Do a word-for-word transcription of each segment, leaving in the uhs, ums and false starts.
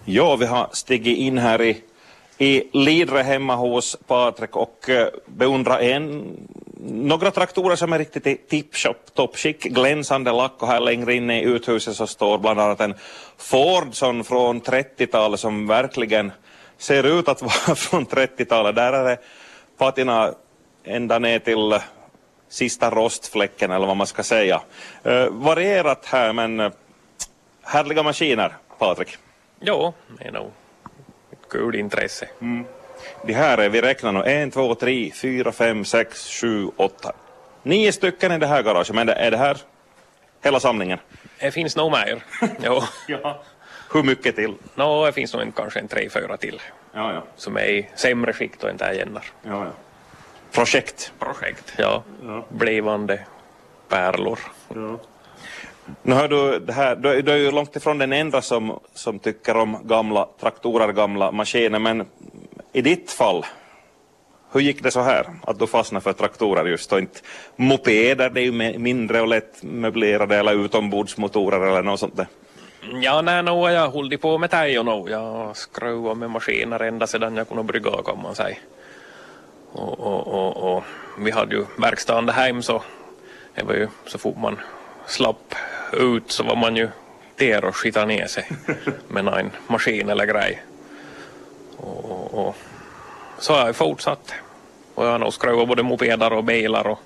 Ja, vi har stigit in här i, i Lidre hemma hos Patrik och uh, beundrar en, några traktorer som är riktigt i tip-shop, toppskick, glänsande lack, och här längre inne i uthuset så står bland annat en Fordson från trettiotalet som verkligen ser ut att vara från trettiotalet. Där är det patina ända ner till uh, sista rostfläcken eller vad man ska säga. Uh, varierat här, men uh, härliga maskiner, Patrik. Ja, det är nog ett kul intresse. Mm. Det här är, vi räknar nu, en, två, tre, fyra, fem, sex, sju, åtta. Nio stycken i det här garaget, men är det här hela samlingen? Det finns nog mer. Jo. Ja. Hur mycket till? Nå, det finns nog en, kanske en tre, fyra till. Ja, ja. Som är i sämre skikt och inte är jämnar. Ja, ja. Projekt? Projekt, ja. Ja. Blivande pärlor. Ja. Nu hör du, det här, du, du är ju långt ifrån den enda som, som tycker om gamla traktorer, gamla maskiner, men i ditt fall, hur gick det så här att du fastnade för traktorer just och inte mopeder? Det är ju mindre och lätt möblerade, eller utombordsmotorer eller något sånt där. Ja, nej, no, jag har hållit på med det och no. Jag har skruvat med maskiner ända sedan jag kunde brygga, kan man säga. Och, och, och, och vi hade ju verkstaden hem, så det var ju så fort man slapp ut så var man ju där och skita ner sig med en maskin eller grej. Och, och, och så har jag fortsatt. Och jag har nog skruvat både mopeder och bilar och,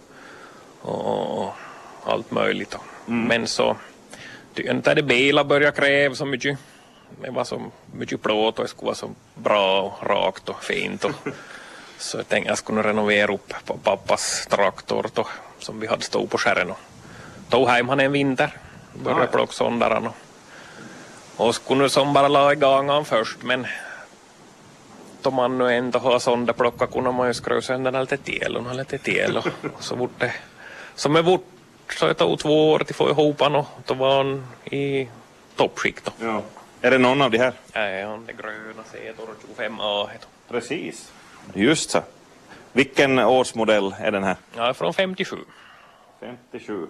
och, och allt möjligt. Mm. Men så tycker inte det bilar börjar kräva så mycket. Det var så mycket plåt och det skulle vara så bra och rakt och fint. Och så jag tänkte jag skulle renovera upp på pappas traktor då, som vi hade stått på skärren. Och tog hem han en vinter. Började plocka sondaren. Och, och skulle som bara la igång han först. Men då man nu ändå har sonder plocka kunde man ju skruva sönder lite till och lite till. Och, och så vart det som är vart. Så det tog två år till få ihop han, och då var han i toppskikt. Ja. Är det någon av de här? Nej, han är gröna Zetor tjugofem A. Precis. Just så. Vilken årsmodell är den här? Ja, från femtiosju. femtiosju.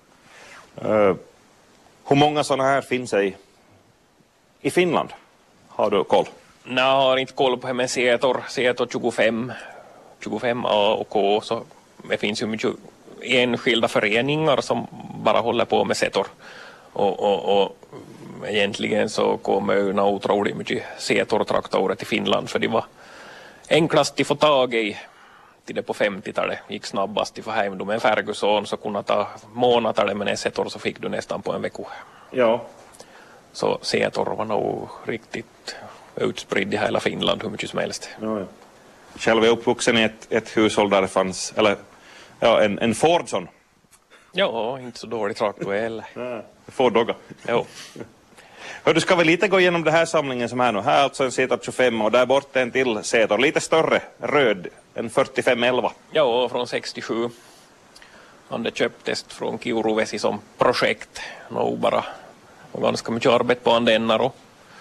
Uh, hur många sådana här finns det i, i Finland? Har du koll? Nej, jag har inte koll på det med Zetor. Zetor tjugofem, tjugofem A och K. Så det finns ju mycket enskilda föreningar som bara håller på med Zetor. Och, och, och egentligen så kommer ju otroligt mycket Zetor-traktorer till Finland, för det var enklast att få tag i till det på femtiotalet. Gick snabbast att få hem dem. En Ferguson så kunde ta månader, men en Zetor så fick du nästan på en vecka. Ja. Så Zetor var nog riktigt utspridd i hela Finland hur mycket som helst. Ja, ja. Själv är jag uppvuxen i ett, ett hushåll där det fanns, eller ja, en, en Fordson. Ja, inte så dålig traktor heller. Ford-dogga. Jo. Hör, du ska väl lite gå igenom den här samlingen som är nu. Här är alltså en Zetor tjugofem och där borta en till Zetor. Lite större, röd, en fyrtiofem elva. Ja, från sextiosju. Han det köptes från Kiuruvesi som projekt. Nog bara och ganska mycket arbete på han denna då.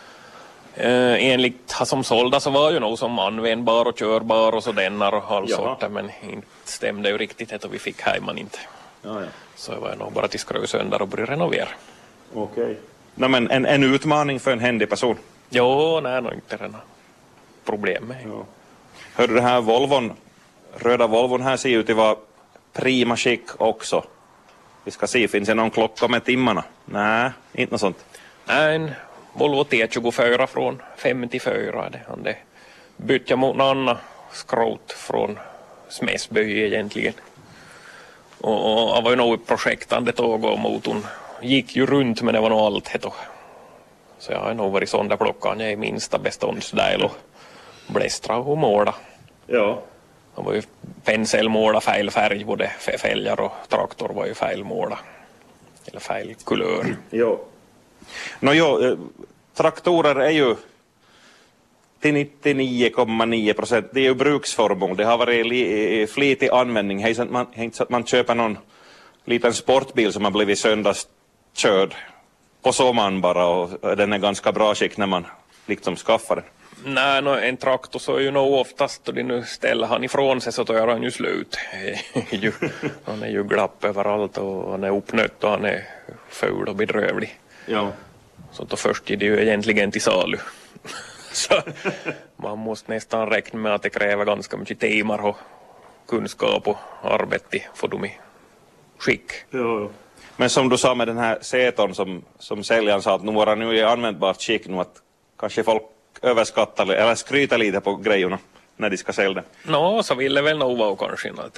Eh, enligt han som sålda så var ju nog som användbar och körbar och så denna och all sorter, men inte stämde ju riktigt det och vi fick hem man inte. Ja, ja. Så det var nog bara till skruv sönder och börja renovera. Okej. Okay. Nej, men en, en utmaning för en händig person. Jo, nej, nog inte det problem med. Ja. Hör du, den här Volvon, röda Volvon här ser ut att vara prima skick också. Vi ska se, finns det någon klocka med timmarna? Nej, inte något sånt. Nej, en Volvo T tjugofyra från femtiofyra. Det han det bytte mot någon annan skrot från Smäsby egentligen. Och, och det var ju nog projektande tåg och motorn gick ju runt, men det var nog allt heto. Så jag har nog varit sån där plockan. Jag är minsta beståndsdel och blästra och måla. Ja. Det var ju penselmåla fel färg, både fälgar och traktor var ju fel måla. Eller fel kulör. Ja. Nå jo, traktorer är ju till nittionio komma nio procent, det är ju bruksförmån. Det har varit li, flitig användning. Det är inte man, så att man köper någon liten sportbil som har blivit söndagskörd på sommaren bara, och den är ganska bra skick när man liksom skaffar den. Nej, no, en traktor så är ju nog oftast, och det nu ställer han ifrån sig så tar han ju slut. Han är ju glapp överallt och han är uppnött och han är ful och bedrövlig. Ja. Så då först är det ju egentligen till salu. Så man måste nästan räkna med att det kräver ganska mycket timmar och kunskap och arbete för dem i skick. Jo, jo. Men som du sa med den här setorn som, som säljaren sa att nu var nu i användbart skick nu att kanske folk överskattar eller skryter lite på grejerna när de ska sälja det. Nå, så ville väl nog vara kanske något.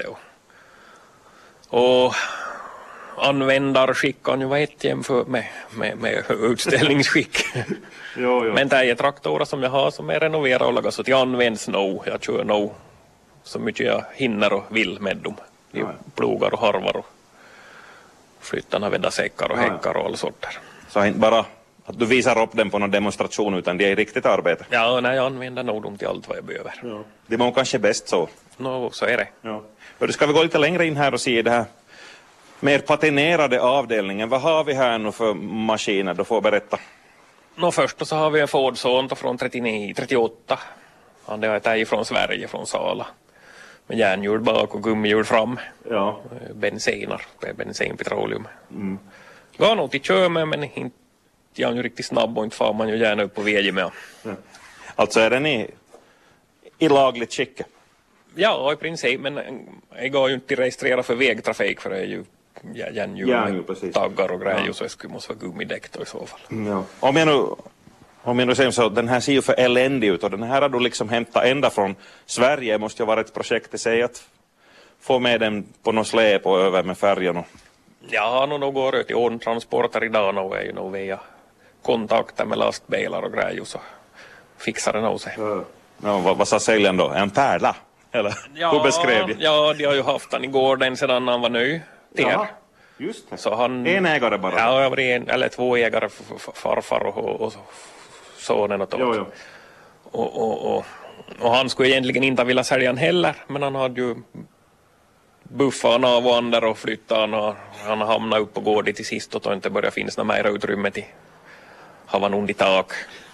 Och användarskick kan ju vara ett jämfört med, med, med utställningsskick. Jo, jo. Men det är traktorer som jag har som är renoverade och lagas så att jag används nog. Jag kör nog så mycket jag hinner och vill med dem. I Ja. plogar och harvar och flyttarna vädda säckar och Ja, ja. häckar och all sorter. Så inte bara att du visar upp dem på någon demonstration utan det är riktigt arbete. Ja, nej, jag använder nog dem till allt vad jag behöver. Ja. Det var kanske bäst så. Nå, så är det. Ja. Och då ska vi gå lite längre in här och se det här mer patinerade avdelningen. Vad har vi här nu för maskiner? Du får berätta. Nå, först så har vi en Ford Sonta från trettionio, trettioåtta. Han det är från Sverige, från Sala. Med järnhjul bak och gummihjul fram. Ja. Bensiner, bensin, petroleum. Mm. Går nog till kör med, men inte jag är ju riktigt snabb och inte far man ju gärna upp på vägen med. Ja. Alltså är den i, i lagligt skick? Ja, i princip, men jag går ju inte att registrera för vägtrafik för det är ju järnhjul med taggar och grejer, ja. Så det måste vara gummidäck då i så fall. Ja. Om jag nu, om jag nu säger så, den här ser ju för eländig ut och den här har du liksom hämtat ända från Sverige. Det måste ju vara ett projekt i sig att få med den på något släp och över med färjan. Och... Ja, nu går det till ordentransporter idag och är ju nog via kontakter med lastbilar och grejer så fixar det nog sig. Ja. Ja, vad, vad sa säljaren då? En pärla? Eller ja, hur beskrev det? Ja, de har ju haft han i gården sedan han var ny. Ja, just det. Så han, en ägare bara? Ja, jag var en, eller två ägare, farfar och, och, och sonen och, jo, jo. och, och, och, och han skulle egentligen inte vilja sälja han heller, men han hade ju buffat han av och andra och flyttat han och han hamnade upp på gården till sist och då inte började finnas några mer utrymme till ha han under tak.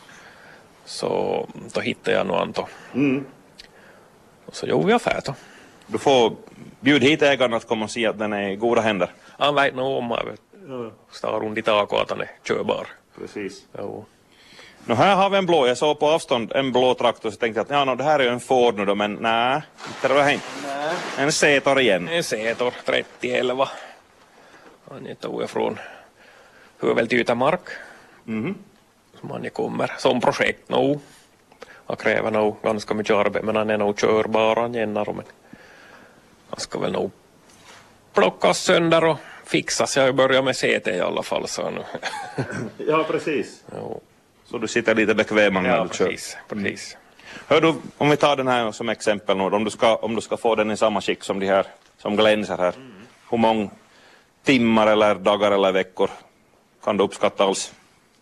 Så då hittade jag nog Anto. Mm. Och så gjorde vi affär då. Du får bjuda hit ägaren att komma och se att den är i goda händer. Han vet nog om att står under tak och att han är körbar. Precis. Jo. Nu här har vi en blå, jag såg på avstånd en blå traktor så tänkte jag att ja, no, det här är ju en Ford nu då, men nej, inte det var inte. En Setor igen. En Setor trettio elva. Han tog jag från Hövel till Ytämark. Mm. Som han kommer som projekt nu. Han kräver nog ganska mycket arbete men han är nog körbar han gännar men han ska väl nog plockas sönder och fixas. Jag börjar med C T i alla fall så nu. Ja, precis. Jo. Så du sitter lite bekvämare när ja, du kör. precis, precis. Hör du, om vi tar den här som exempel nu, om du ska, om du ska få den i samma skick som de här som glänser här. Mm. Hur många timmar eller dagar eller veckor kan du uppskatta alls?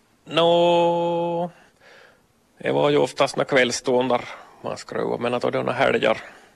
Nå, no, det var ju oftast när kvällståndar man skruvar, men att det är några helger.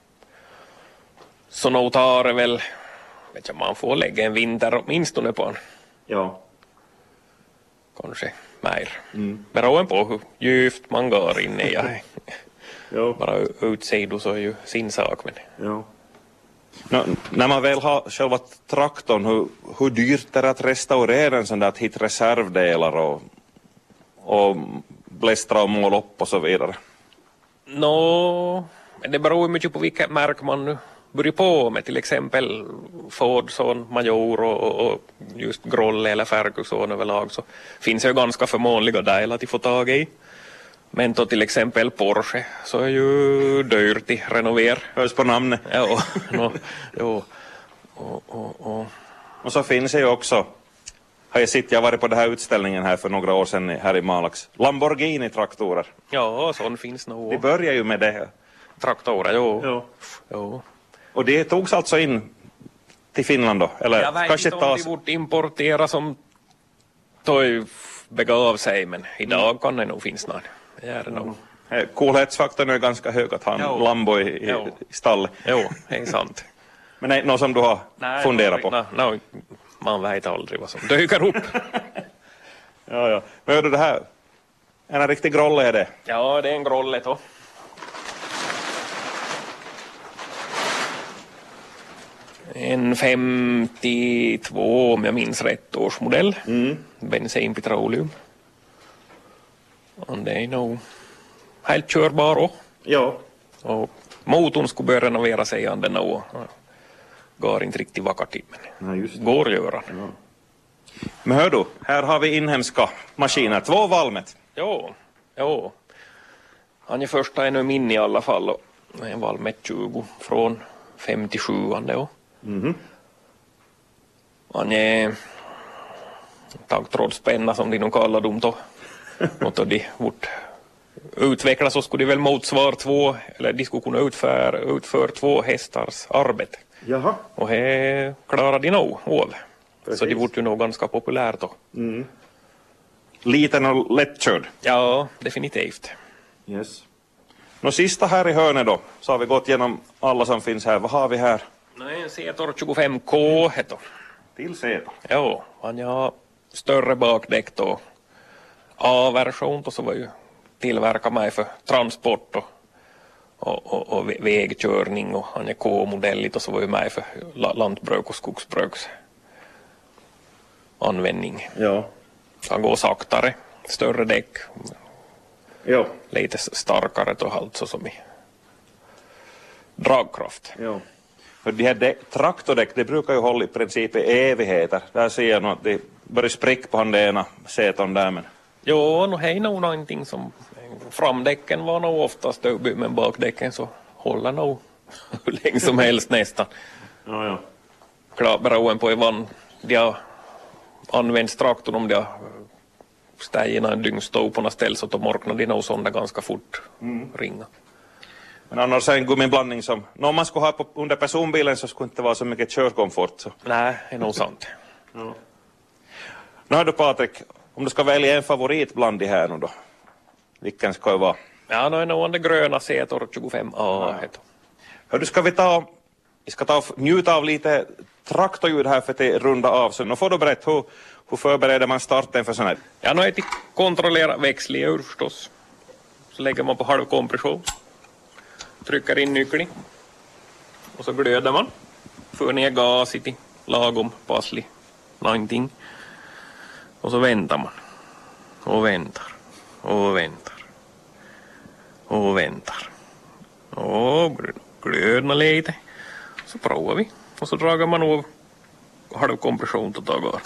Så nog tar det väl, vet jag, man får lägga en vinter åtminstone på en. Ja. Kanske mer. Mm. Beroende på hur djupt man går in i. Jo. Bara utsido så är ju sin sak. Men... Jo. Nå, när man väl har själva traktorn, hur, hur dyrt är det att restaurera en sån där, att hitta reservdelar och, och blästra och måla upp och så vidare? Nå, no, det beror mycket på vilket märk man nu börjar på med, till exempel Ford, sån, Major och, och just Grolle eller Ferguson överlag så finns det ju ganska förmånliga delar att de får tag i. Men då till exempel Porsche så är ju dyrt i renover. Hörs på namnet. Ja, no, jo. Och, och, och. och så finns det ju också, har jag sett, jag varit på den här utställningen här för några år sedan här i Malax, Lamborghini-traktorer. Ja, sån finns nog. De börjar ju med det. Traktorer, jo. Jo. Jo. Och det togs alltså in till Finland då? Eller jag vet kanske inte om de borde importera som tog begav sig, men idag mm. kan det nog finnas någon. Det är det nog. Mm. Coolhetsfaktorn är ganska hög att ha en jo. Lambo i, i, i stallet. Jo, det är sant. Men det är något som du har nej, funderat på? Nej, nej, man vet aldrig vad som dyker upp. ja, ja. Men hör du det här? En riktig grolle är det? Ja, det är en grolle då. En femtiotvå om jag minns rätt årsmodell. Mm. Bensin petroleum. Och det är nog helt körbar också. Ja. Och motorn skulle börja renovera sig igen den och går inte riktigt vackert i, men Nej, just det. går att göra. Ja. Men hör du, här har vi inhemska maskiner, två Valmet. Jo, jo. Han är första ännu min i alla fall och en Valmet tjugo från femtiosju och Mhm. han är taggtrådspenna som de nog kallar dem då. Och då de vart utvecklas så skulle de väl motsvara två, eller de skulle kunna utföra, utföra två hästars arbete. Jaha. Och det klarar de nog av. Precis. Så det vart ju nog ganska populärt då. Mm. Liten och lättkörd. Ja, definitivt. Yes. Nå sista här i hörnet då, så har vi gått igenom alla som finns här. Vad har vi här? Nej, en Zetor tjugofem K heter. Till Zetor. Jo, han har större bakdäck då. A-version då så var ju tillverkad mig för transport och, och, och, och vägkörning och han är K-modell och så var ju mig för lantbruk och skogsbruks användning. Ja. Han går saktare, större däck, Ja. lite starkare då alltså som i dragkraft. Ja. För de här däck, traktordäck, det brukar ju hålla i princip i evigheter. Där ser jag nog att det börjar spricka på han det ena Zetorn där men. Jo, nu är nog någonting som framdäcken var nog oftast stöbig men bakdäcken så håller nog hur länge som helst nästan. Ja, ja. Klart beroende på vad de har använt traktorn om de har stägit en dyngstov på något ställe så då morknar de nog sådana ganska fort mm. ringa. Men annars är en gummiblandning som, om man skulle ha på, under personbilen så skulle det inte vara så mycket körkomfort. Så. Nej, det är nog sant. Ja. Nu hör du Patrik, om du ska välja en favorit bland de här nu då, vilken ska det vara? Ja, nu är nog den gröna Zetor tjugofem A. Ja. Hör du, ska vi ta, vi ska ta njuta av lite traktorljud här för att runda av. Så nu får du berätta, hur, hur förbereder man starten för sån här? Ja, nu är det kontrollera växelljuud förstås. Så lägger man på halvkompression. Trycker in nyckeln. Och så glöder man. För ner gas i lagom passlig någonting. Och så väntar man. Och väntar. Och väntar. Och väntar. Och glödna lite. Så provar vi. Och så drar man av halvkompression till dagar.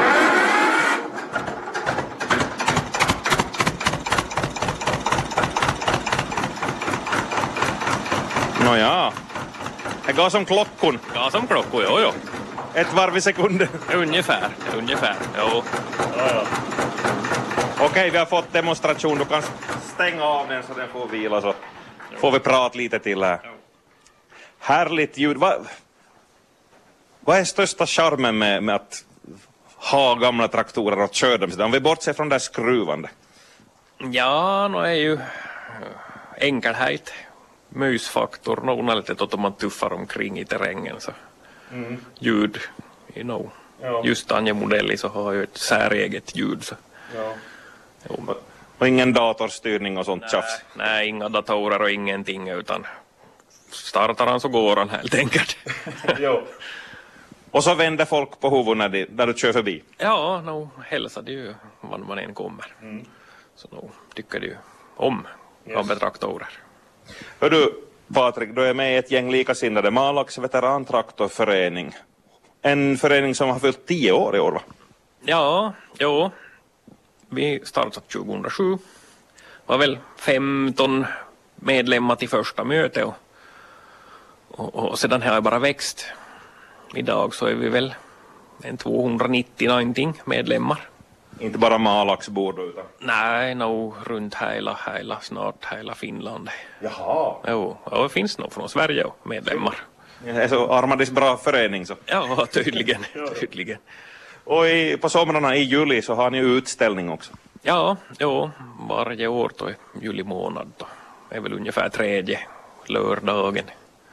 Nåja, det går som klockon. Ja, som klockor, jo, jo. Ett varv i sekunden. Ungefär, ungefär, jo. Ja, ja. Okej, vi har fått demonstration. Du kan stänga av den så den får vila så får vi prata lite till här. Härligt ljud. Vad, vad är största charmen med, med att ha gamla traktorer och köra dem? Om vi bortser från det skruvande. Ja, nu är ju enkelhet. Mysfaktor, någon är lite att man tuffar omkring i terrängen så mm. ljud, you know. Ja. Just Anja Modelli så har ju ett säreget ljud så. Ja. Jo. Och ingen datorstyrning och sånt tjafs? Nej, inga datorer och ingenting utan startar han så går han helt enkelt. Jo. Och så vänder folk på huvudet när, de, när du kör förbi? Ja, nog hälsar det ju var man än kommer. Mm. Så nog tycker det ju om yes. av betraktorer. Hör du Patrik, du är med i ett gäng likasinnade, Malax veterantraktorförening. En förening som har fyllt tio år i år va? Ja, jo. Vi startade tjugohundrasju. Var väl femton medlemmar till första mötet och, och, och sedan har jag bara växt. Idag så är vi väl en tvåhundranittio någonting medlemmar. Inte bara Malaxbord utan? Nej, nog runt hela, hela, snart hela Finland. Jaha. Jo, och det finns nog från Sverige medlemmar. Det är så Armadis bra förening så. Ja, tydligen, tydligen. Och i, på somrarna i juli så har ni utställning också? Ja, jo, varje år då i juli månad då. Det är väl ungefär tredje lördagen.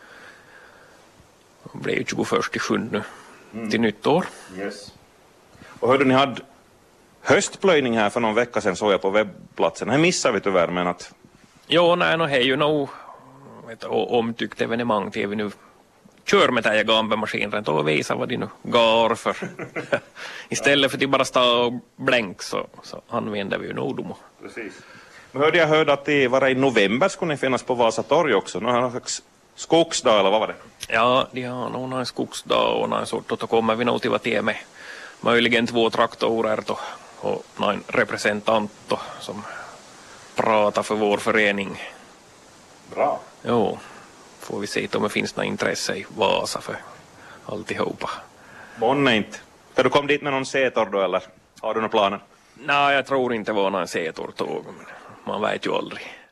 Det blir ju tjugoförsta till sjunde mm. till nytt år. Yes. Och hörde ni hade höstplöjning här för någon vecka sedan såg jag på webbplatsen. Det missar vi tyvärr men att... Jo, nej, no, det är ju nog ett omtyckt evenemang till vi nu kör med den gambemaskinen och visar vad de nu går för. Istället för att bara stå och blänk så, så använder vi ju nog dem. Precis. Nu hörde jag hörde att det var i november skulle ni finnas på Vasa torg också. Nu har någon slags skogsdag eller vad var det? Ja, de har nog en skogsdag och någon sort och då kommer vi nog till vad det är med möjligen två traktorer då, och någon representant då, som pratar för vår förening. Bra. Jo, får vi se om det finns något intresse i Vasa för alltihopa. Månne inte. Ska du komma dit med någon setor då eller har du några planer? Nej, jag tror inte det var någon setortåg, men man vet ju aldrig.